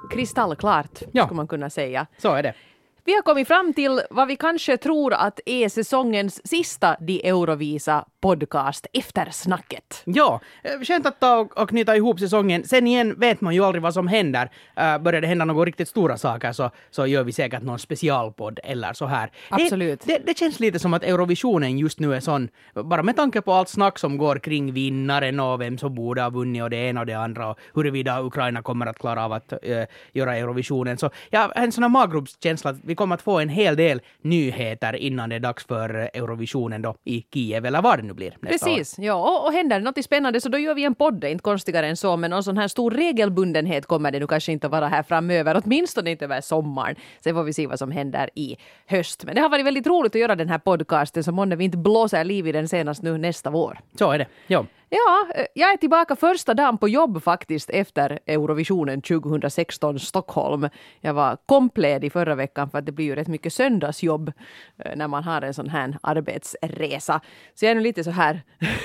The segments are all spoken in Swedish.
kristallklart, skulle man kunna säga. Så är det. Vi har kommit fram till vad vi kanske tror att är säsongens sista De Eurovisa podcast efter snacket. Ja, skönt att ta och knyta ihop säsongen. Sen igen vet man ju aldrig vad som händer. Börjar det hända några riktigt stora saker så gör vi säkert någon specialpodd eller så här. Absolut. Det känns lite som att Eurovisionen just nu är sån, bara med tanke på allt snack som går kring vinnaren och vem som borde ha vunnit och det ena och det andra och huruvida Ukraina kommer att klara av att göra Eurovisionen. Så ja, en sån här maggropskänsla att vi kommer att få en hel del nyheter innan det är dags för Eurovisionen då i Kiev eller var det nu blir nästa Precis, ja, och händer det något spännande så då gör vi en podd, inte konstigare än så, men någon sån här stor regelbundenhet kommer det nu kanske inte att vara här framöver, åtminstone inte över sommaren. Sen får vi se vad som händer i höst. Men det har varit väldigt roligt att göra den här podcasten, så månne vi inte blåser liv i den senast nu nästa vår. Så är det, ja. Ja, jag är tillbaka första dagen på jobb faktiskt efter Eurovisionen 2016 Stockholm. Jag var kompledig förra veckan för att det blir ju rätt mycket söndagsjobb när man har en sån här arbetsresa. Så jag är nu lite så här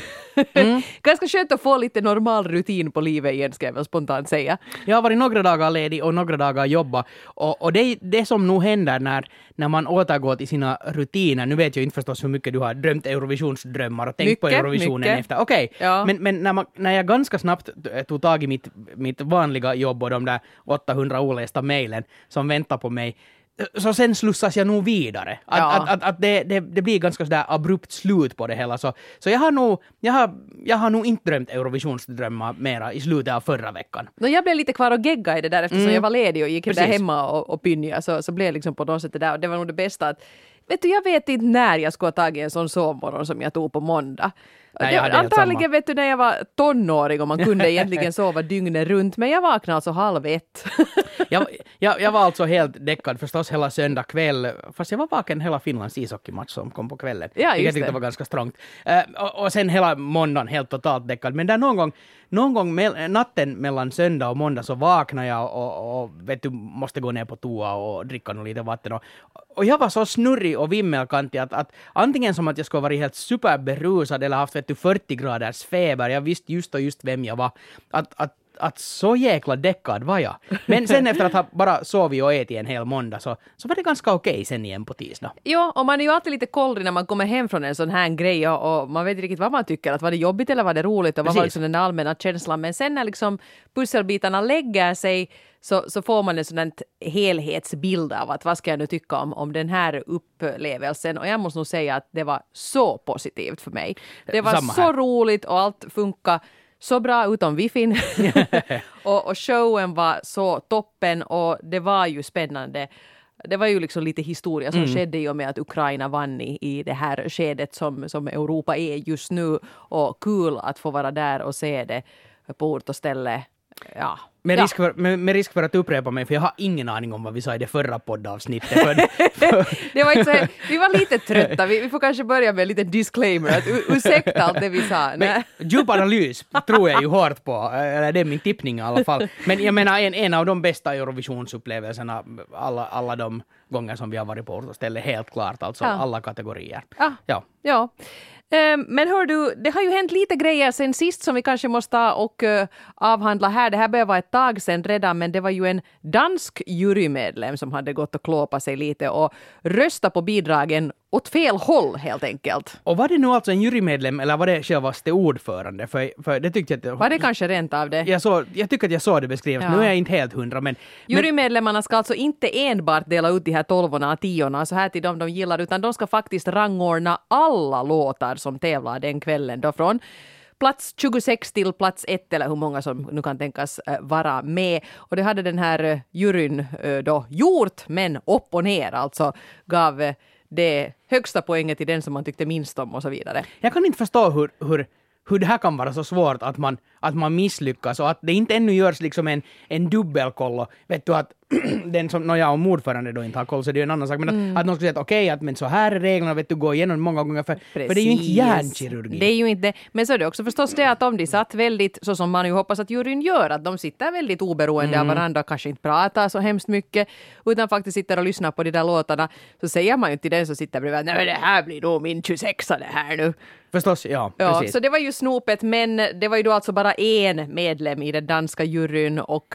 ganska skönt att få lite normal rutin på livet igen, ska jag väl spontant säga. Jag har varit några dagar ledig och några dagar jobba. Och det som nog händer när man återgår till sina rutiner, nu vet jag inte förstås hur mycket du har drömt Eurovisionsdrömmar och tänkt på Eurovisionen efter. Okej. Ja. Men när jag ganska snabbt tog tag i mitt vanliga jobb och de där 800 olästa mejlen som väntar på mig, så sen slussas jag nog vidare. Att det blir ganska sådär abrupt slut på det hela. Så jag har nog inte drömt Eurovisionsdrömmar mera i slutet av förra veckan. Jag blev lite kvar och gegga i det där eftersom jag var ledig och gick där hemma och pynja. Så blev jag liksom på något sätt det där. Och det var nog det bästa att, jag vet inte när jag skulle ha tagit en sån sovmorgon som jag tog på måndag. Nej, antagligen när jag var tonåring och man kunde egentligen sova dygnet runt, men jag vaknade alltså 12:30. jag var alltså helt däckad förstås hela söndag kväll, fast jag var vaken hela Finlands ishockeymatch som kom på kvällen. Ja, jag tyckte det var ganska strångt. Och sen hela måndagen helt totalt däckad, men där någon gång natten mellan söndag och måndag så vaknade jag och vet du, måste gå ner på toa och dricka något lite vatten. Och jag var så snurrig och vimmelkantig att antingen som att jag skulle vara helt superberusad eller haft 40 graders feber, jag visste just vem jag var, att så jäkla däckad var jag. Men sen efter att ha bara sovit och ätit en hel måndag så var det ganska okej sen igen på tisdag. Ja, och man är ju alltid lite kollrig när man kommer hem från en sån här grej och man vet inte riktigt vad man tycker, att var det jobbigt eller var det roligt och vad var liksom den allmänna känslan. Men sen när liksom pusselbitarna lägger sig så får man en sån här helhetsbild av att vad ska jag nu tycka om den här upplevelsen. Och jag måste nog säga att det var så positivt för mig. Det var så roligt och allt funkar så bra utom wifi. och showen var så toppen och det var ju spännande. Det var ju liksom lite historia som skedde i och med att Ukraina vann i det här skedet som Europa är just nu. Och kul att få vara där och se det på ort och ställe. Ja. Med risk för att upprepa mig, för jag har ingen aning om vad vi sa i det förra poddavsnittet. Det var inte så, vi var lite trötta. Vi får kanske börja med en liten disclaimer. Att ursäkta allt det vi sa. Men, djup analys tror jag ju hårt på. Eller det är min tippning i alla fall. Men jag menar en av de bästa Eurovisionsupplevelserna alla de gånger som vi har varit på ort och ställe, helt klart. Alltså alla kategorier. Ja. Men hör du, det har ju hänt lite grejer sen sist som vi kanske måste avhandla här. Det här börjar vara ett tag sedan redan, men det var ju en dansk jurymedlem som hade gått och klåpat sig lite och röstat på bidragen åt fel håll helt enkelt. Och var det nu alltså en jurymedlem eller var det självaste ordförande? För det tyckte jag att var det kanske rent av det? Jag tycker att jag såg det beskrivet. Nu är jag inte helt 100, men jurymedlemmarna ska alltså inte enbart dela ut de här 12:orna och 10:orna så här till dem de gillar, utan de ska faktiskt rangordna alla låtar som tävlar den kvällen då från plats 26 till plats 1 eller hur många som nu kan tänkas vara med. Och det hade den här juryn då gjort, men upp och ner alltså gav det högsta poänget till den som man tyckte minst om och så vidare. Jag kan inte förstå hur det här kan vara så svårt att man misslyckas och att det inte ännu görs liksom en dubbelkoll. Vet du att den som jag och ordförande då inte har koll så det är en annan sak. Men att någon skulle säga att okej, men så här är reglerna, vet du, gå igenom många gånger för det är ju inte hjärnkirurgi. Det är ju inte, men så är det också förstås det att om de satt väldigt, så som man ju hoppas att juryn gör, att de sitter väldigt oberoende av varandra, kanske inte pratar så hemskt mycket, utan faktiskt sitter och lyssnar på de där låtarna, så säger man ju till den som sitter bredvid, nej det här blir då min 26 det här nu. Förstås, ja, precis. Så det var ju snopet, men det var ju då alltså bara en medlem i den danska juryn och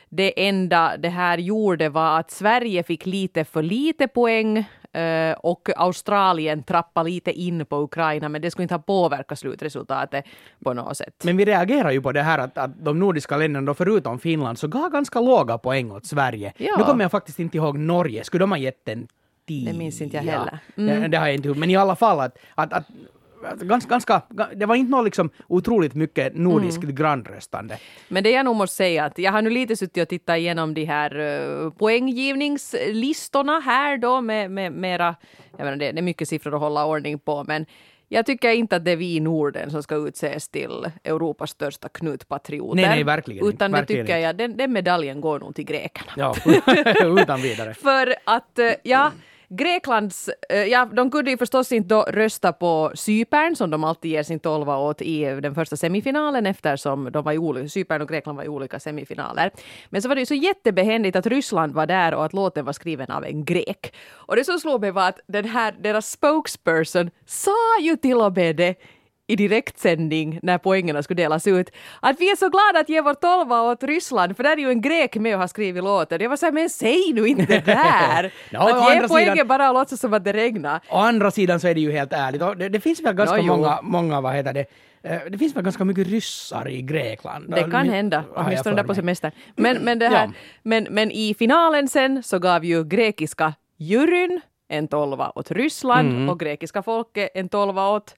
det enda det här gjorde var att Sverige fick lite för lite poäng och Australien trappade lite in på Ukraina, men det skulle inte ha påverkat slutresultatet på något sätt. Men vi reagerar ju på det här att de nordiska länderna, förutom Finland, så gav ganska låga poäng åt Sverige. Ja. Nu kommer jag faktiskt inte ihåg Norge. Skulle de ha gett en 10? Det minns inte jag heller. Det har jag inte. Men i alla fall att ganska, det var inte något liksom otroligt mycket nordiskt grannröstande. Men det jag nog måste säga att jag har nu lite suttit och tittat igenom de här poänggivningslistorna här då med mera, jag menar det är mycket siffror att hålla ordning på, men jag tycker inte att det är vi i Norden som ska utses till Europas största knutpatrioter. Nej, verkligen. Utan verkligen det tycker jag, den medaljen går nog till grekerna. Ja, utan vidare. För att, Greklands, de kunde ju förstås inte då rösta på Cypern som de alltid ger sin 12 åt i den första semifinalen eftersom de var Cypern och Grekland var i olika semifinaler. Men så var det ju så jättebehändigt att Ryssland var där och att låten var skriven av en grek. Och det som slog mig var att deras spokesperson sa ju till och med det i direktsändning när poängerna skulle delas ut. Att vi är så glada att ge vår 12 åt Ryssland, för där är ju en grek med och har skrivit låten. Jag var så här, men säg nu inte det där! Att ge poängen bara och låtsas som att det regnar. Å andra sidan så är det ju helt ärligt. Det finns väl ganska många, vad heter det? Det finns väl ganska mycket ryssar i Grekland. Det kan hända, åtminstone där på semestern. Men, det här, men i finalen sen så gav ju grekiska juryn en 12 åt Ryssland och grekiska folket en 12 åt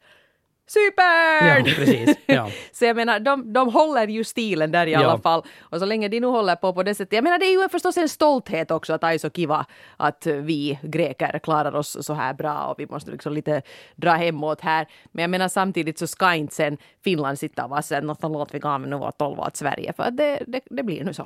Cypern! Ja, precis. Ja. Så jag menar, de håller ju stilen där i alla fall. Och så länge de nu håller på det sättet. Jag menar, det är ju förstås en stolthet också att det är så kiva att vi greker klarar oss så här bra och vi måste liksom lite dra hemåt här. Men jag menar, samtidigt så ska inte sen Finland sitta och vara sen något låt vi gav nu var 12 åt Sverige. För att det blir nu så.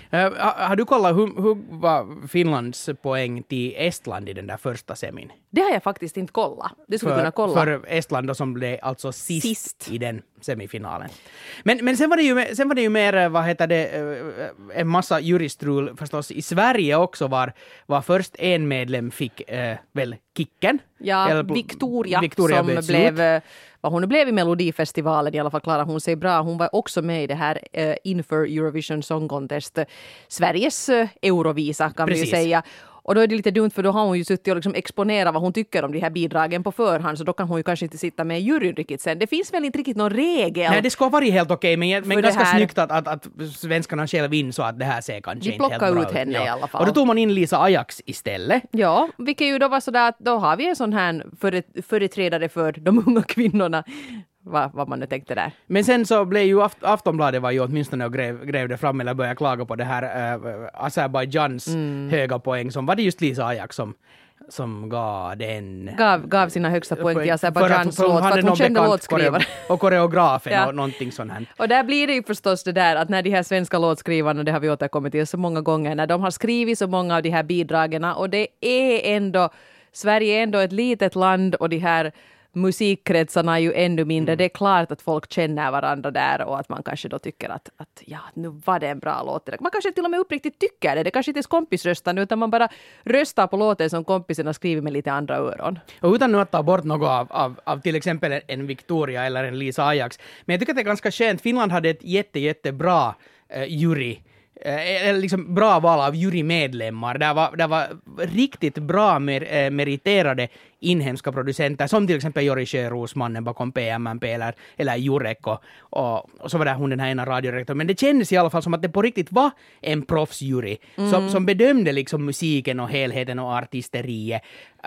Har du kollat hur var Finlands poäng till Estland i den där första semin? Det har jag faktiskt inte kollat. Det skulle kunna kolla. För Estland då, som blev alltså sist i den semifinalen. Men sen var det ju mer, vad heter det, en massa juristrul förstås i Sverige också var först en medlem fick väl kicken. Ja, Victoria som blev vad hon blev i Melodifestivalen, i alla fall klarade hon sig bra. Hon var också med i det här inför Eurovision Song Contest, Sveriges Eurovisa kan vi ju säga. Och då är det lite dumt för då har hon ju suttit och liksom exponerat vad hon tycker om de här bidragen på förhand, så då kan hon ju kanske inte sitta med i juryn riktigt sen. Det finns väl inte riktigt någon regel. Nej, det ska vara helt okej, men ganska snyggt att svenskarna själv insåg att det här ser kanske inte helt bra ut. De plockar ut henne i alla fall. Och då tog man in Lisa Ajax istället. Ja, vilket ju då var sådär att då har vi en sån här företrädare för de unga kvinnorna. Vad man nu tänkte där. Men sen så blev ju Aftonbladet var ju åtminstone och grävde fram eller började klaga på det här Azerbajdzjans höga poäng, som var det just Lisa Ajax som gav den. Gav sina högsta poäng till Azerbajdzjans låt för att hon kände låtskrivare. Och koreografen och någonting sånt här. Och där blir det ju förstås det där att när de här svenska låtskrivarna, det har vi återkommit till så många gånger, när de har skrivit så många av de här bidragen, och det är ändå, Sverige är ändå ett litet land och de här musikkretsarna är ju ännu mindre. Det är klart att folk känner varandra där och att man kanske då tycker att ja, nu var det en bra låt. Man kanske till och med uppriktigt tycker det. Det kanske inte är kompisröstande utan man bara röstar på låten som kompisen har skrivit med lite andra öron. Och utan nu att ta bort något av till exempel en Victoria eller en Lisa Ajax. Men jag tycker att det är ganska skönt. Finland hade ett jättebra jury. Liksom bra val av jurymedlemmar. Det var riktigt bra meriterade inhemska producenter, som till exempel Jori Sjöros, mannen bakom PMMP eller Jurek och så var det hon, den här ena radiorektorn. Men det kändes i alla fall som att det på riktigt var en proffsjury som bedömde liksom musiken och helheten och artisteriet.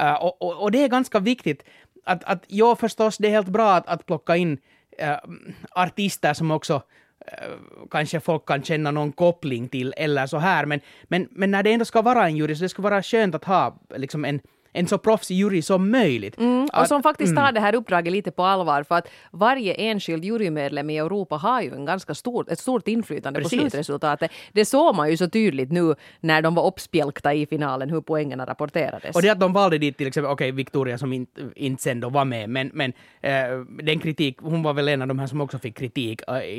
Och det är ganska viktigt att ja, förstås det är helt bra att plocka in artister som också kanske folk kan känna någon koppling till eller så här, men när det ändå ska vara en jury så det ska vara skönt att ha liksom en så proffsig jury som möjligt. Och som faktiskt tar det här uppdraget lite på allvar, för att varje enskild jurymedlem i Europa har ju en ganska ett stort inflytande på slutresultatet. Det såg man ju så tydligt nu när de var uppspjälkta i finalen, hur poängerna rapporterades. Och det att de valde dit till exempel, Victoria som inte sen då var med, men den kritik, hon var väl en av de här som också fick kritik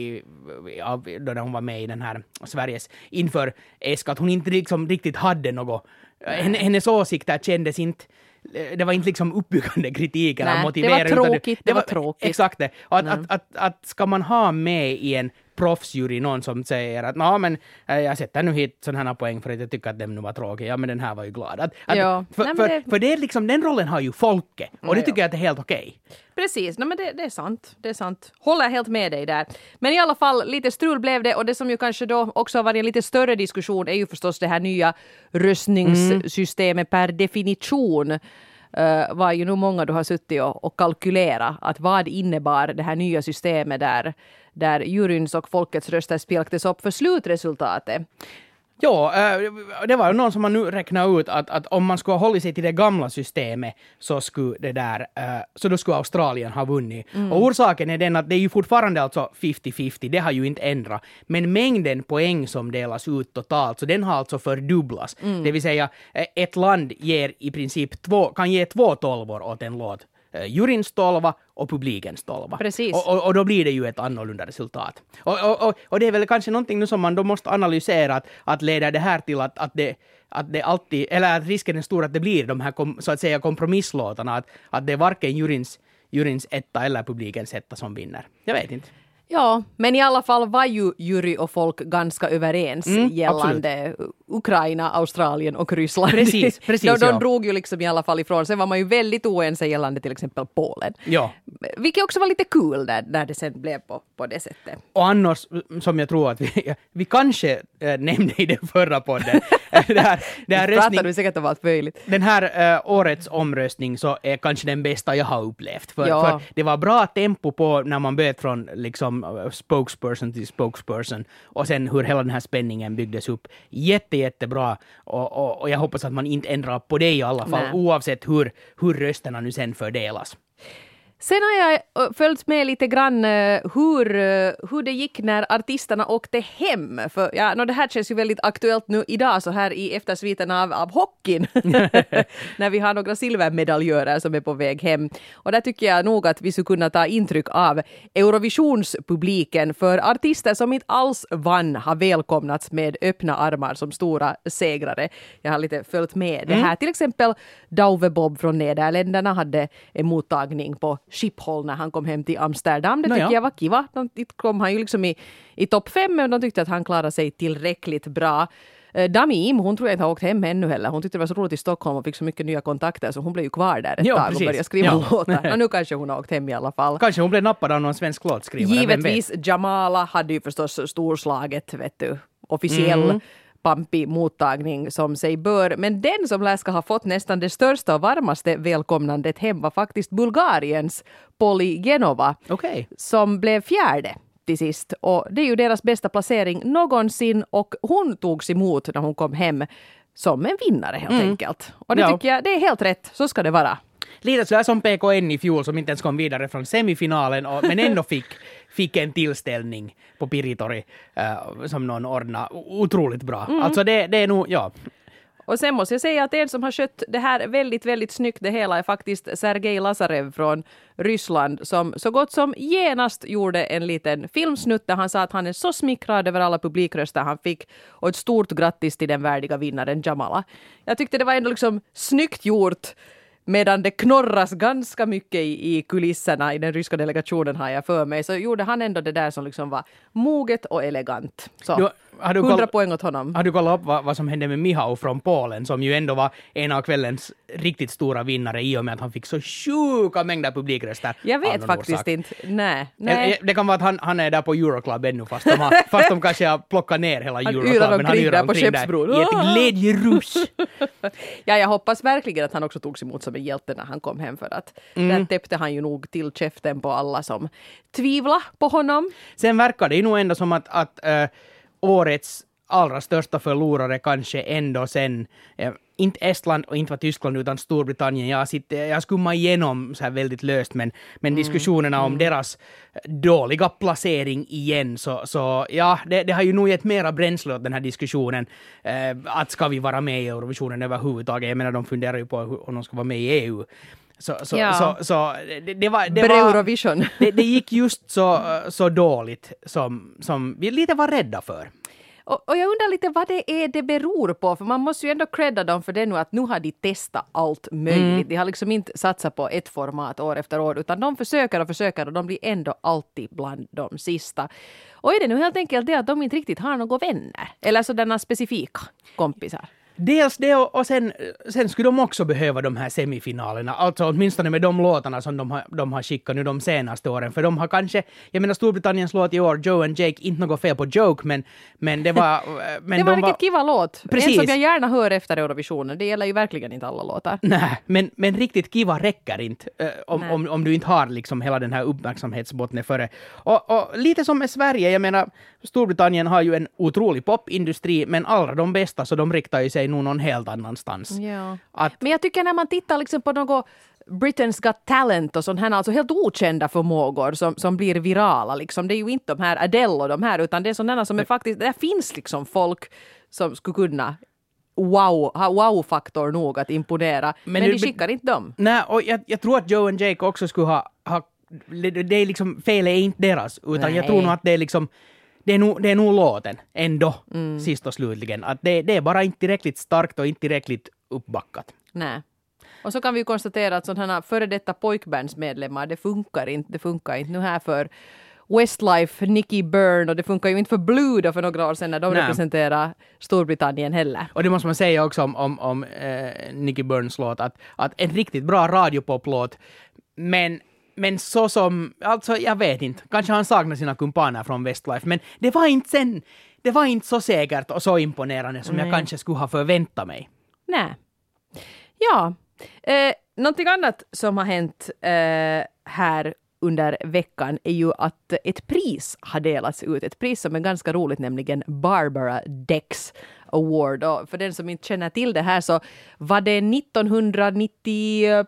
då hon var med i den här Sveriges inför ESK, att hon inte liksom riktigt hade något. Hennes åsikter kändes inte, det var inte liksom uppbyggande kritik eller motiverande. Det var tråkigt. Exakt det. Och att ska man ha med i en proffsjury, någon som säger att men jag sätter nu hit sådana här poäng för att jag tycker att den nu var tråkig. Ja, men den här var ju glad. För det är liksom, den rollen har ju folket. Och det tycker jag att det är helt okej. Precis, men det är sant. Det är sant. Håller helt med dig där. Men i alla fall, lite strul blev det. Och det som ju kanske då också har varit en lite större diskussion är ju förstås det här nya röstningssystemet per definition. Var ju nog många du har suttit och kalkylerat att vad innebar det här nya systemet där juryns och folkets röster spelktes upp för slutresultatet. Ja, det var ju någon som man nu räknar ut att om man skulle hålla sig till det gamla systemet så så då skulle Australien ha vunnit. Och orsaken är den att det är ju fortfarande alltså 50-50, det har ju inte ändrat. Men mängden poäng som delas ut totalt, så den har alltså fördubblats. Det vill säga, ett land ger i princip kan ge 2 tolvor åt en låt. Juryns 12 och publikens 12. Precis. Och då blir det ju ett annorlunda resultat. Och det är väl kanske någonting nu som man då måste analysera att leder det här till att det alltid, eller att risken är stor att det blir de här så att säga kompromisslåtarna, att det är varken juryns etta eller publikens etta som vinner. Jag vet inte. Ja, men i alla fall var ju jury och folk ganska överens gällande absolut. Ukraina, Australien och Ryssland. Precis, de drog ju liksom i alla fall ifrån. Sen var man ju väldigt oense gällande till exempel Polen. Ja. Vilket också var lite kul när det sen blev på det sättet. Och annars, som jag tror att vi kanske nämnde i den förra podden. det här pratar du säkert om allt möjligt. Den här årets omröstning så är kanske den bästa jag har upplevt. För det var bra tempo på när man böt från liksom spokesperson till spokesperson och sen hur hela den här spänningen byggdes upp. Jättebra och jag hoppas att man inte ändrar på det i alla fall. Nej. Oavsett hur rösterna nu sen fördelas. Sen har jag följt med lite grann hur det gick när artisterna åkte hem. För det här känns ju väldigt aktuellt nu idag så här i eftersviten av hockeyn. När vi har några silvermedaljörer som är på väg hem. Och där tycker jag nog att vi skulle kunna ta intryck av Eurovisionspubliken. För artister som inte alls vann har välkomnats med öppna armar som stora segrare. Jag har lite följt med det här. Till exempel Douwe Bob från Nederländerna hade en mottagning på Schiphol när han kom hem till Amsterdam. Det tycker jag var kiva. De kom han ju liksom i topp 5 men de tyckte att han klarade sig tillräckligt bra. Damim, hon tror jag inte har åkt hem ännu heller. Hon tyckte det var så roligt i Stockholm och fick så mycket nya kontakter så hon blev ju kvar där ett tag och började skriva låtar. Och nu kanske hon har åkt hem i alla fall. Kanske hon blev nappad av någon svensk låtskrivare. Givetvis, Jamala hade ju förstås storslaget, officiell pampig mottagning som sig bör. Men den som lär ska ha fått nästan det största och varmaste välkomnandet hem var faktiskt Bulgariens Poli Genova som blev 4:e till sist. Och det är ju deras bästa placering någonsin och hon togs emot när hon kom hem som en vinnare helt enkelt. Och det tycker jag, det är helt rätt. Så ska det vara. Lite sådär som PKN i fjol som inte ens kom vidare från semifinalen men ändå fick en tillställning på Piritori som någon ordnade otroligt bra. Alltså det är nog, Och sen måste jag säga att en som har skött det här väldigt, väldigt snyggt det hela är faktiskt Sergej Lazarev från Ryssland som så gott som genast gjorde en liten filmsnutt där han sa att han är så smickrad över alla publikröster han fick och ett stort grattis till den värdiga vinnaren Jamala. Jag tyckte det var ändå liksom snyggt gjort medan det knorras ganska mycket i kulisserna i den ryska delegationen har jag för mig så gjorde han ändå det där som liksom var moget och elegant. Så 100 poäng åt honom. Har du kollat upp vad som hände med Michał från Polen som ju ändå var en av kvällens riktigt stora vinnare i och med att han fick så sjuka mängder publikröster. Jag vet faktiskt inte. Nej. Det kan vara att han är där på Euroclub ännu fast de kanske har plockat ner hela Euroclub. Han yrar omkring där i ett glädjerus. Jag hoppas verkligen att han också togs emot som en hjälte när han kom hem för att där täppte han ju nog till käften på alla som tvivlar på honom. Sen verkar det ju nog ändå som att årets allra största förlorare kanske ändå sen inte Estland och inte var Tyskland utan Storbritannien. Jag skummar igenom så här väldigt löst men diskussionerna om deras dåliga placering igen så det har ju nog gett mera bränsle åt den här diskussionen att ska vi vara med i Eurovisionen överhuvudtaget. Jag menar de funderar ju på om de ska vara med i EU. Så det var Eurovision. Det gick just så dåligt som vi lite var rädda för. Och jag undrar lite vad det beror på, för man måste ju ändå credda dem för det nu att nu har de testat allt möjligt. De har liksom inte satsat på ett format år efter år, utan de försöker och de blir ändå alltid bland de sista. Och är det nu helt enkelt det att de inte riktigt har några vänner? Eller sådana specifika kompisar? Dels det och sen skulle de också behöva de här semifinalerna. Alltså åtminstone med de låtarna som de har skickat nu de senaste åren. För de har kanske, jag menar Storbritanniens låt i år, Joe and Jake, inte något fel på Joke, men det var... Men det var en riktigt kiva låt. Precis. En som jag gärna hör efter Eurovisionen. Det gäller ju verkligen inte alla låtar. Nej, men riktigt kiva räcker inte om du inte har liksom hela den här uppmärksamhetsbottnen före. Och lite som med Sverige, jag menar Storbritannien har ju en otrolig popindustri, men alla de bästa så de riktar ju sig nog någon helt annanstans. Ja. Men jag tycker när man tittar liksom på något Britain's Got Talent och sånt här, alltså helt okända förmågor som blir virala liksom. Det är ju inte de här Adele och de här, utan det är sådana som är faktiskt, där finns liksom folk som skulle kunna ha wow-faktor nog att imponera. Men de skickar inte dem. Nej, och jag tror att Joe and Jake också skulle ha det är liksom, fel är inte deras, utan jag tror nog att det är liksom det är nog låten ändå, sist och slutligen. Att det är bara inte tillräckligt starkt och inte tillräckligt uppbackat. Nej. Och så kan vi ju konstatera att sådana här före detta pojkbandsmedlemmar, det funkar inte nu här för Westlife, Nicky Byrne, och det funkar ju inte för Blue då för några år sedan när de representerar Storbritannien heller. Och det måste man säga också om Nicky Byrnes låt, att en riktigt bra radiopoplåt, men så som, alltså jag vet inte, kanske han saknar sina kumpaner från Westlife, men det var inte så säkert och så imponerande som jag kanske skulle ha förväntat mig. Nej. Ja, någonting annat som har hänt här under veckan är ju att ett pris har delats ut. Ett pris som är ganska roligt, nämligen Barbara Dex Award. Och för den som inte känner till det här så var det 1993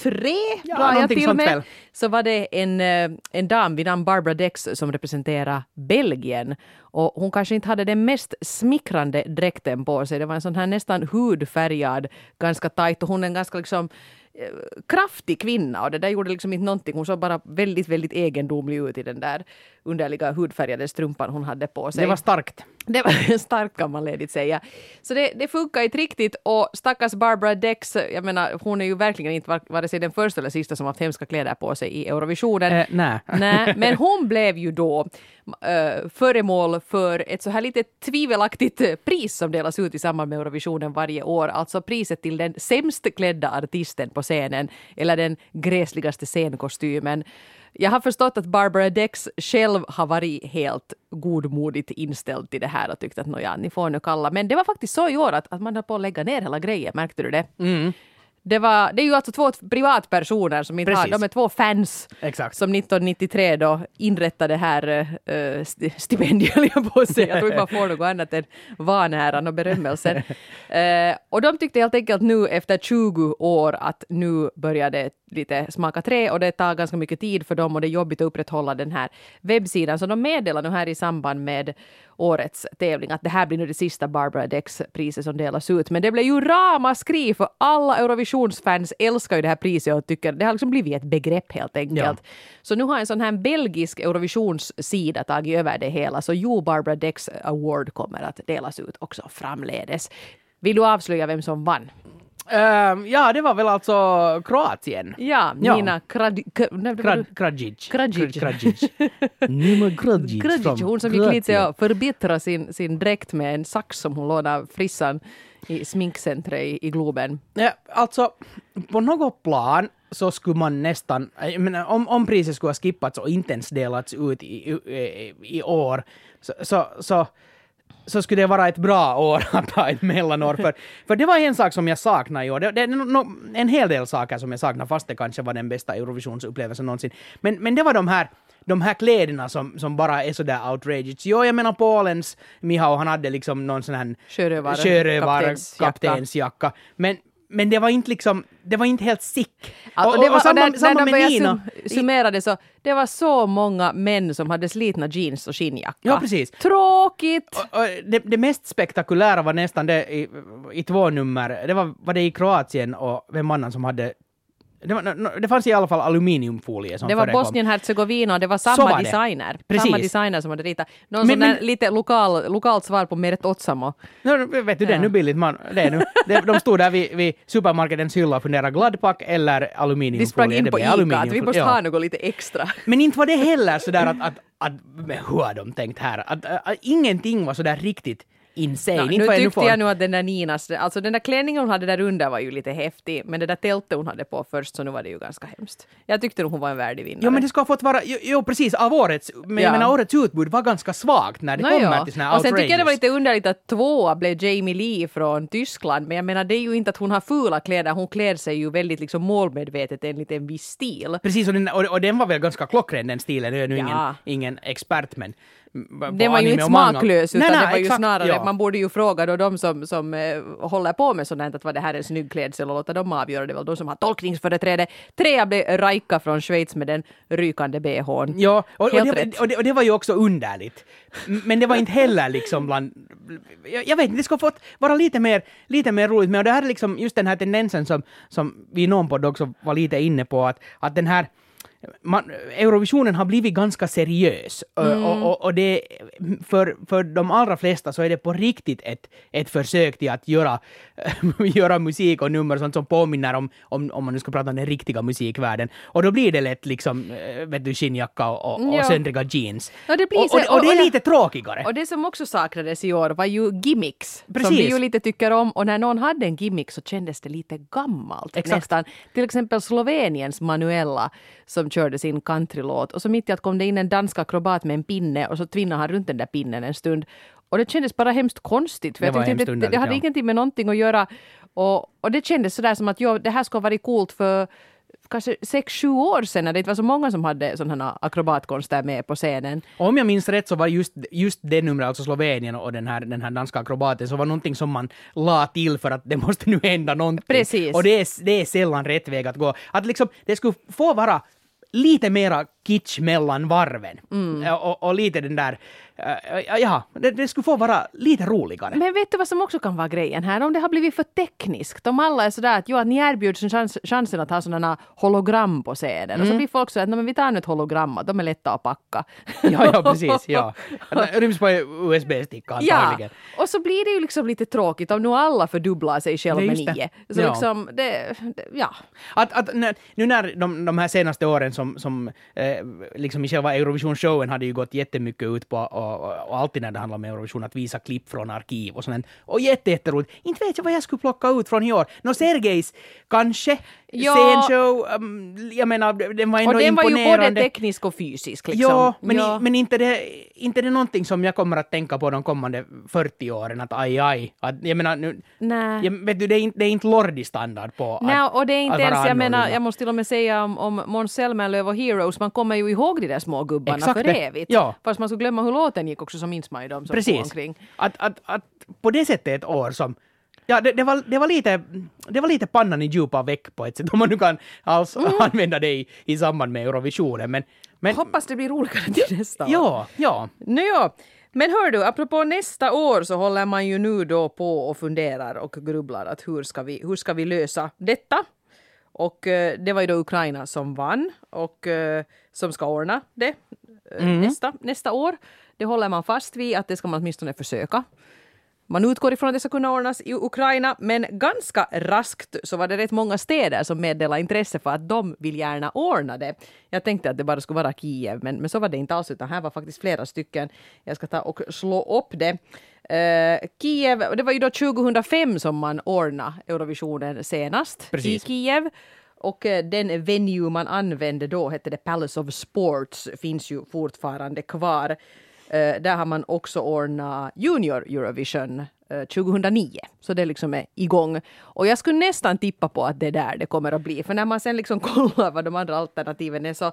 till och med, så var det en dam vid namn Barbara Dex som representerar Belgien. Och hon kanske inte hade den mest smickrande dräkten på sig. Det var en sån här nästan hudfärgad, ganska tajt, och hon är en ganska liksom kraftig kvinna, och det där gjorde liksom inte någonting. Hon såg bara väldigt, väldigt egendomlig ut i den där underliga hudfärgade strumpan hon hade på sig. Det var starkt. Det var starkt, kan man ledigt säga. Så det funkar inte riktigt, och stackars Barbara Dex, jag menar, hon är ju verkligen inte vare sig den första eller sista som har haft hemska kläder på sig i Eurovisionen. Nej, men hon blev ju då föremål för ett så här lite tvivelaktigt pris som delas ut i samband med Eurovisionen varje år. Alltså priset till den sämst klädda artisten på scenen, eller den gräsligaste scenkostymen. Jag har förstått att Barbara Dex själv har varit helt godmodigt inställd till det här och tyckt att ni får nu kalla. Men det var faktiskt så i år att man höll på att lägga ner hela grejen, märkte du det? Mm. Det är ju alltså två privatpersoner som inte har, de är två fans. Exakt. Som 1993 då inrättade det här stipendiet på sig. Jag tror inte man får något annat än vanäran och berömmelsen. Och de tyckte helt enkelt nu efter 20 år att nu börjar det lite smaka trä, och det tar ganska mycket tid för dem och det är jobbigt att upprätthålla den här webbsidan. Så de meddelar nu här i samband med årets tävling att det här blir nu det sista Barbara Dex-priset som delas ut. Men det blev ju ramaskri, för alla Eurovisionsfans älskar ju det här priset och tycker det har liksom blivit ett begrepp helt enkelt. Ja. Så nu har en sån här belgisk Eurovisionssida tagit över det hela, så Barbara Dex Award kommer att delas ut också framledes. Vill du avslöja vem som vann? Ja, det var väl alltså Kroatien. Ja, Nina Krajic. Nima Krajic, hon som gick lite och förbättra sin dräkt med en sax som hon lånade frissan i sminkcentret i Globen. Ja, alltså, på något plan så skulle man nästan, jag menar, om priset skulle ha skippats och inte ens delats ut i år, så skulle det vara ett bra år att ha ett mellanår. För det var en sak som jag saknar i år. Det är en hel del saker som jag saknar, fast det kanske var den bästa Eurovisionsupplevelsen någonsin. Men det var de här kläderna som bara är sådär outrageous. Jo, jag menar Polens Mihao, han hade liksom någon sån här sjörövar-kaptensjacka. Men det var inte liksom, det var inte helt sick. Och samma med Nina. Summerade så, det var så många män som hade slitna jeans och skinnjacka. Ja, precis. Tråkigt! Och det mest spektakulära var nästan det i två nummer. Det var det i Kroatien och vem annan som hade Det fanns i alla fall aluminiumfolie som det var förekom. Bosnien-Herzegovina och det var samma designer. Precis. Samma designer som hade ritat. Någon sån där lite lokalt svar på Meret Otsamo. Vet du, det är nu billigt. De stod där vid supermarketens hylla och funderade Gladpack eller aluminiumfolie. Vi sprang in på ICA att vi måste ha något lite extra. Men inte var det heller sådär att hur har de tänkt här? Att ingenting var sådär riktigt insane. Nu tyckte jag nu att den där Ninas, alltså den där klänningen hon hade där under var ju lite häftig, men det där tältet hon hade på först, så nu var det ju ganska hemskt. Jag tyckte nog hon var en värdig vinnare. Jo, men det ska ha fått vara, precis, av årets, men jag menar årets utbud var ganska svagt när det kommer till såna här outrageous. Och sen tycker jag det var lite underligt att 2 blev Jamie Lee från Tyskland, men jag menar det är ju inte att hon har fula kläder, hon klär sig ju väldigt liksom målmedvetet enligt en viss stil. Precis, och den var väl ganska klockren den stilen, nu är nu ingen expert, men det var ju inte smaklös, utan det var ju exakt, snarare, man borde ju fråga då de som håller på med sådant, att vad det här är en snygg klädsel, och låta dem avgöra det, väl de som har tolkningsföreträde. 3 blev Raika från Schweiz med den rykande BH:n. Ja, och det var ju också underligt. Men det var inte heller liksom bland... Jag vet inte, det ska fått vara lite mer roligt med, och det här är liksom just den här tendensen som vi någon på också var lite inne på, att den här Eurovisionen har blivit ganska seriös och det för de allra flesta så är det på riktigt ett försök till att göra musik och nummer sånt som påminner om man nu ska prata om den riktiga musikvärlden, och då blir det lätt liksom vet du, skinnjacka och söndriga jeans och det är lite tråkigare. Och det som också saknades i år var ju gimmicks. Precis. Som vi ju lite tycker om, och när någon hade en gimmick så kändes det lite gammalt. Exakt. Nästan. Till exempel Sloveniens Manuela som körde sin countrylåt, och så mitt i att kom det in en dansk akrobat med en pinne och så tvinnade han runt den där pinnen en stund. Och det kändes bara hemskt konstigt, för jag tyckte det hade ingenting med någonting att göra, och det kändes sådär som att det här skulle vara coolt för kanske 6-7 år sedan när det inte var så många som hade sådana akrobatkonster med på scenen. Och om jag minns rätt så var just det numret, alltså Slovenien och den här danska akrobaten, så var någonting som man la till för att det måste nu hända någonting. Precis. Och det är sällan rätt väg att gå. Att liksom, det skulle få vara lite mera kitsch mellan varven. Och lite den där... det skulle få vara lite roligare. Men vet du vad som också kan vara grejen här? Om det har blivit för tekniskt. Om alla är sådär att ni erbjuds chansen att ha sådana hologram på scenen. Och så blir folk så att men vi tar nu ett hologram, de är lätta att packa. Ja, precis. Ja. Ryms på USB-sticka antagligen. Ja, och så blir det ju liksom lite tråkigt om nu alla fördubblar sig själva med 9. Så liksom, nu när de här senaste åren som liksom i själva Eurovision-showen hade ju gått jättemycket ut på och alltid när det handlar om Eurovision att visa klipp från arkiv och sånt. Och jätteroligt. Inte vet jag vad jag skulle plocka ut från i år. Sergejs kanske scenshow, jag menar, den var ändå imponerande. Och den var ju både teknisk och fysisk. Liksom. Ja, men inte det någonting som jag kommer att tänka på de kommande 40 åren, att aj. Att, jag menar, nu, vet du, det är inte Lordi-standard på och det är inte ens, jag menar, jag måste till och med säga om Måns Zelmerlöw och Heroes, man kommer ju ihåg de där små gubbarna för evigt. Ja. Fast man skulle glömma hur låten gick också, så minns man ju dem som går omkring. Att på det sättet ett år som det var lite pannan i djupa väck på ett sätt, om man nu kan alls använda det i samband med Eurovisionen. Men hoppas det blir roligare till nästa år. Ja. Men hör du, apropå nästa år så håller man ju nu då på och funderar och grubblar att hur ska vi lösa detta? Och det var ju då Ukraina som vann och som ska ordna det nästa år. Det håller man fast vid, att det ska man åtminstone försöka. Man utgår ifrån att det ska kunna ordnas i Ukraina, men ganska raskt så var det rätt många städer som meddelade intresse för att de vill gärna ordna det. Jag tänkte att det bara skulle vara Kiev, men så var det inte alls, utan här var faktiskt flera stycken. Jag ska ta och slå upp det. Kiev, det var ju då 2005 som man ordnade Eurovisionen senast. Precis. I Kiev. Och den venue man använde då hette det Palace of Sports, finns ju fortfarande kvar. Där har man också ordnat Junior Eurovision 2009. Så det liksom är igång. Och jag skulle nästan tippa på att det är där det kommer att bli. För när man sen liksom kollar vad de andra alternativen är så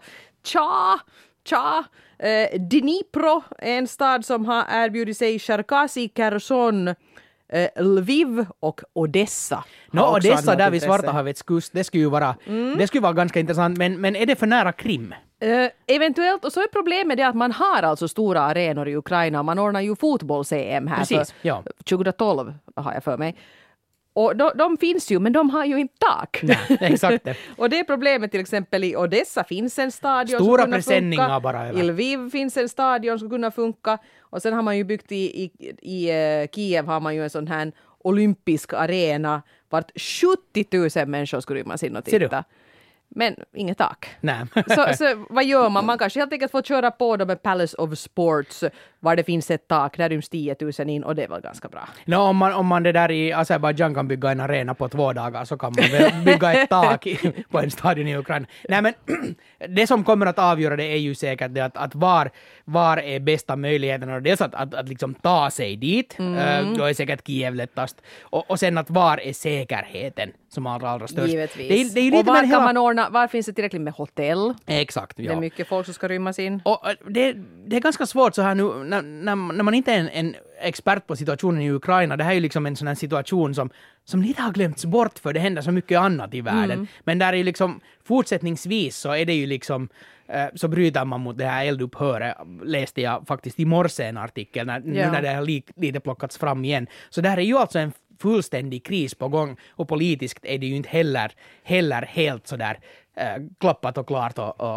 Dnipro är en stad som har erbjudit sig, Cherkasy, Kherson, Lviv och Odessa. Odessa där vid Svarta havets kust, det skulle ju vara det skulle vara ganska intressant, men är det för nära Krim? Eventuellt, och så är problemet det att man har alltså stora arenor i Ukraina, man ordnar ju fotbolls-EM här. Precis, 2012 har jag för mig. Och de finns ju, men de har ju inte tak. Nej, exakt det. Och det är problemet till exempel i Odessa finns en stadion stora som presenningar bara över. I Lviv finns en stadion som kunna funka. Och sen har man ju byggt i Kiev har man ju en sån här olympisk arena vart 70 000 människor skulle rymmas in och titta. Men inget tak. Nej. Så vad gör man? Man kanske helt enkelt får köra på då med Palace of Sports var det finns ett tak, där ryms 10 000 in och det är väl ganska bra. No, om man det där i Azerbaijan kan bygga en arena på 2 dagar så kan man väl bygga ett tak på en stadion i Ukraina. Nej men det som kommer att avgöra det är ju säkert det att var är bästa möjligheterna och dels att liksom ta sig dit, då är säkert Kiev lättast och sen att var är säkerheten som allra störst. Givetvis. Det är lite och var kan man ordna, var finns det tillräckligt med hotell? Exakt, ja. Det är mycket folk som ska rymmas in. Och det är ganska svårt så här nu när man inte är en expert på situationen i Ukraina. Det här är ju liksom en sån här situation som lite har glömts bort för det händer så mycket annat i världen. Men där är ju liksom fortsättningsvis så är det ju liksom så bryter man mot det här eldupphöret, läste jag faktiskt i morse en artikel när det har lite plockats fram igen. Så det här är ju alltså en fullständig kris på gång och politiskt är det ju inte heller helt sådär klappat och klart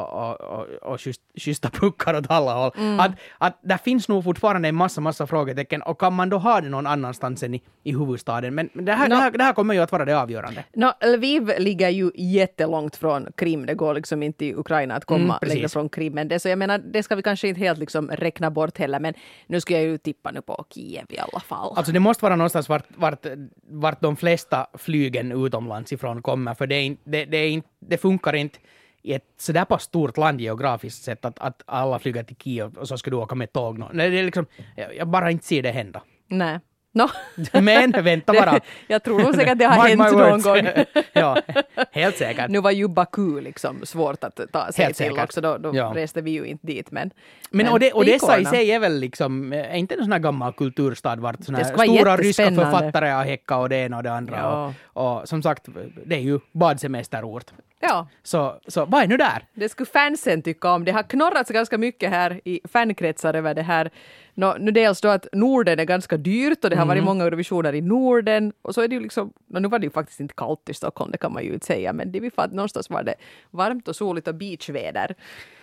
och schyssta puckar åt alla håll. Att där finns nog fortfarande en massa frågetecken och kan man då ha det någon annanstans än i huvudstaden? Men det här kommer ju att vara det avgörande. Lviv ligger ju jättelångt från Krim. Det går liksom inte i Ukraina att komma längre från Krim. Men det, så jag menar, det ska vi kanske inte helt liksom räkna bort heller. Men nu ska jag ju tippa nu på Kiev i alla fall. Alltså det måste vara någonstans vart de flesta flygen utomlands ifrån kommer. För det funkar inte i ett sådär pass stort land geografiskt sett att alla flyger till Kiev och så ska du åka med tåg. Det är liksom, jag bara inte ser det hända. Nej. No. Men vänta bara. Jag tror nog säkert att det har hänt någon gång. Ja, helt säkert. Nu var ju Baku liksom svårt att ta sig helt till säkert. också. Då reste vi ju inte dit. Men Odessa i sig är väl liksom, är inte en sån här gammal kulturstad vart såna här stora ryska författare har häckat och det ena och det andra. Ja. Och som sagt, det är ju badsemesterort. Ja. Så vad är nu där? Det skulle fansen tycka om. Det har knorrats ganska mycket här i fankretsar över det här. Nu dels då att Norden är ganska dyrt och det har varit många Eurovisioner i Norden. Och så är det ju liksom, nu var det ju faktiskt inte kallt i Stockholm, det kan man ju inte säga. Men det är för att någonstans var det varmt och soligt och beachväder.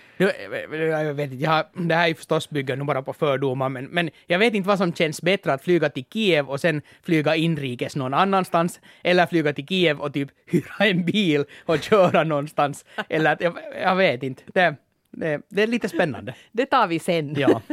Jag vet inte, det här är ju förstås bygger nu bara på fördomar, men jag vet inte vad som känns bättre att flyga till Kiev och sen flyga inrikes någon annanstans eller flyga till Kiev och typ hyra en bil och köra någonstans. Eller att, jag vet inte. Det är lite spännande. Det tar vi sen. Ja.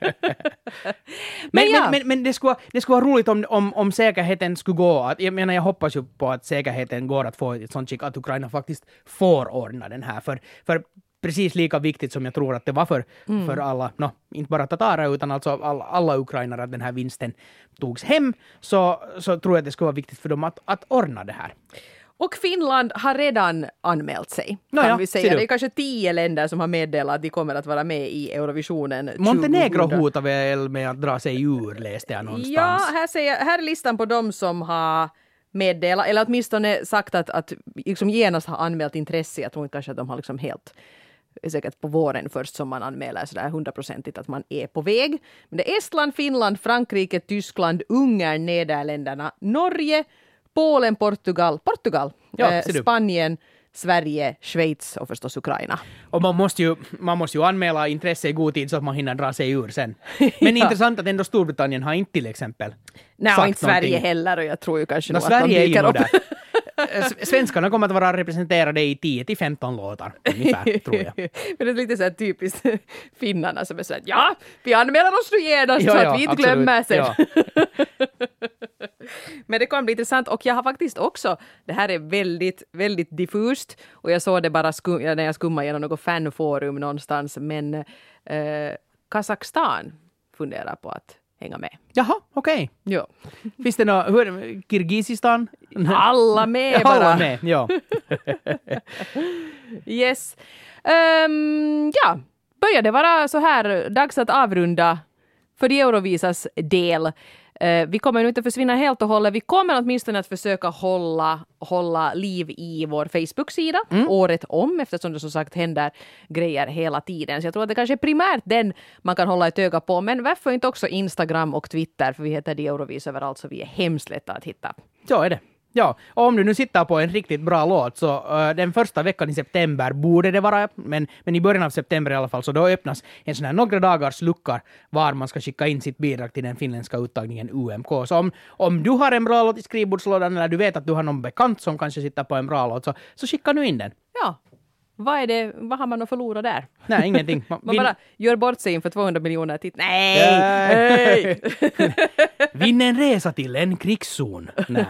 men det skulle vara roligt om säkerheten skulle gå. Jag menar, jag hoppas ju på att säkerheten går att få ett sånt skick att Ukraina faktiskt får ordna den här. För precis lika viktigt som jag tror att det var för alla, inte bara tatarer utan alltså alla ukrainare att den här vinsten togs hem, så tror jag att det skulle vara viktigt för dem att ordna det här. Och Finland har redan anmält sig, kan vi säga. Det är kanske 10 länder som har meddelat att de kommer att vara med i Eurovisionen 2000. Montenegro hotar väl med att dra sig ur, läste jag någonstans. Ja, här är listan på dem som har meddelat, eller åtminstone sagt att liksom genast har anmält intresse. Jag tror inte kanske att de har liksom helt säkert på våren först som man anmäler sådär 100% att man är på väg. Men det är Estland, Finland, Frankrike, Tyskland, Ungern, Nederländerna, Norge, Polen, Portugal, Spanien, Sverige, Schweiz och förstås Ukraina. Och man måste ju anmäla intresse i god tid så att man hinner dra sig ur sen. Men intressant att ändå Storbritannien har inte till exempel Nej, inte Sverige heller och jag tror ju kanske nog att Sverige de dyker upp. Där. Svenskarna kommer att vara representerade i 10-15 låtar ungefär, tror jag. Men det är lite så här typiskt finnarna som är så att vi anmäler oss nu genast så att vi inte glömmer sen. Ja. Men det kommer bli intressant och jag har faktiskt också, det här är väldigt, väldigt diffust och jag såg det bara när jag skummade genom något fanforum någonstans, men Kazakstan funderar på att hänga med. Jaha, okej. Ja. Finns det något, Kirgizistan? Alla med bara. Alla med, ja. Yes. Börjar det vara så här dags att avrunda för de Eurovisas del. Vi kommer nu inte försvinna helt och hållet. Vi kommer åtminstone att försöka hålla liv i vår Facebook-sida året om, eftersom det som sagt händer grejer hela tiden. Så jag tror att det kanske är primärt den man kan hålla ett öga på. Men varför inte också Instagram och Twitter, för vi heter de Eurovis överallt så vi är hemskt lätta att hitta. Så är det. Ja, och om du nu sitter på en riktigt bra låt så den första veckan i september borde det vara, men i början av september i alla fall, så då öppnas en sån här några dagars luckor var man ska skicka in sitt bidrag till den finländska uttagningen UMK. Så om du har en bra låt i skrivbordslådan eller du vet att du har någon bekant som kanske sitter på en bra låt, så skicka nu in den. Ja. Vad har man att förlora där? Nej, ingenting. Man bara gör bort sig inför 200 miljoner Nej! Vinn en resa till en krigszon. Nej.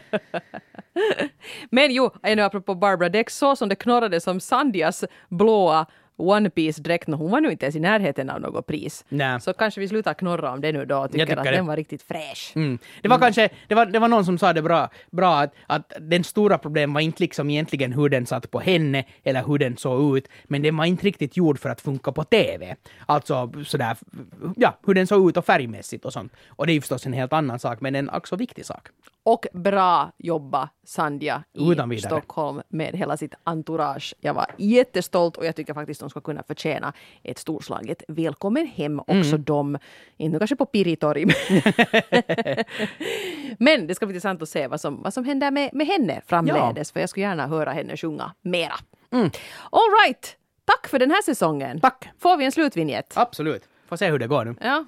Men jo, ännu apropå Barbara Dex, så som det knorrade som Sandias blåa One Piece-dräkt, hon var nu inte ens i närheten av något pris. Nej. Så kanske vi slutar knorra om det nu då och tycker att den var riktigt fräsch. Det var kanske, det var någon som sa det bra att den stora problemet var inte liksom egentligen hur den satt på henne eller hur den såg ut, men den var inte riktigt gjord för att funka på TV. Alltså sådär, ja, hur den såg ut och färgmässigt och sånt. Och det är ju förstås en helt annan sak, men en också viktig sak. Och bra jobba Sandia i vidare. Stockholm med hela sitt entourage. Jag var jättestolt och jag tycker faktiskt de ska kunna förtjäna ett storslaget välkommen hem också de. Inte kanske på Piritori. Men det ska bli intressant att se vad som händer med henne framledes. För jag skulle gärna höra henne sjunga mera. All right. Tack för den här säsongen. Tack. Får vi en slutvinjett? Absolut. Får se hur det går nu. Ja.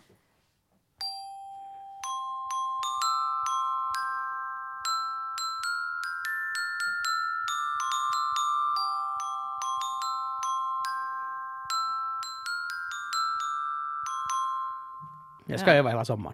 Jag ska öva hela sommaren.